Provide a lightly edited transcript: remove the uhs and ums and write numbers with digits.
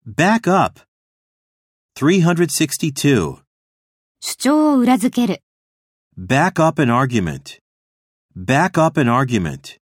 Back up. 362. 主張を裏付ける。 Back up an argument. Back up an argument.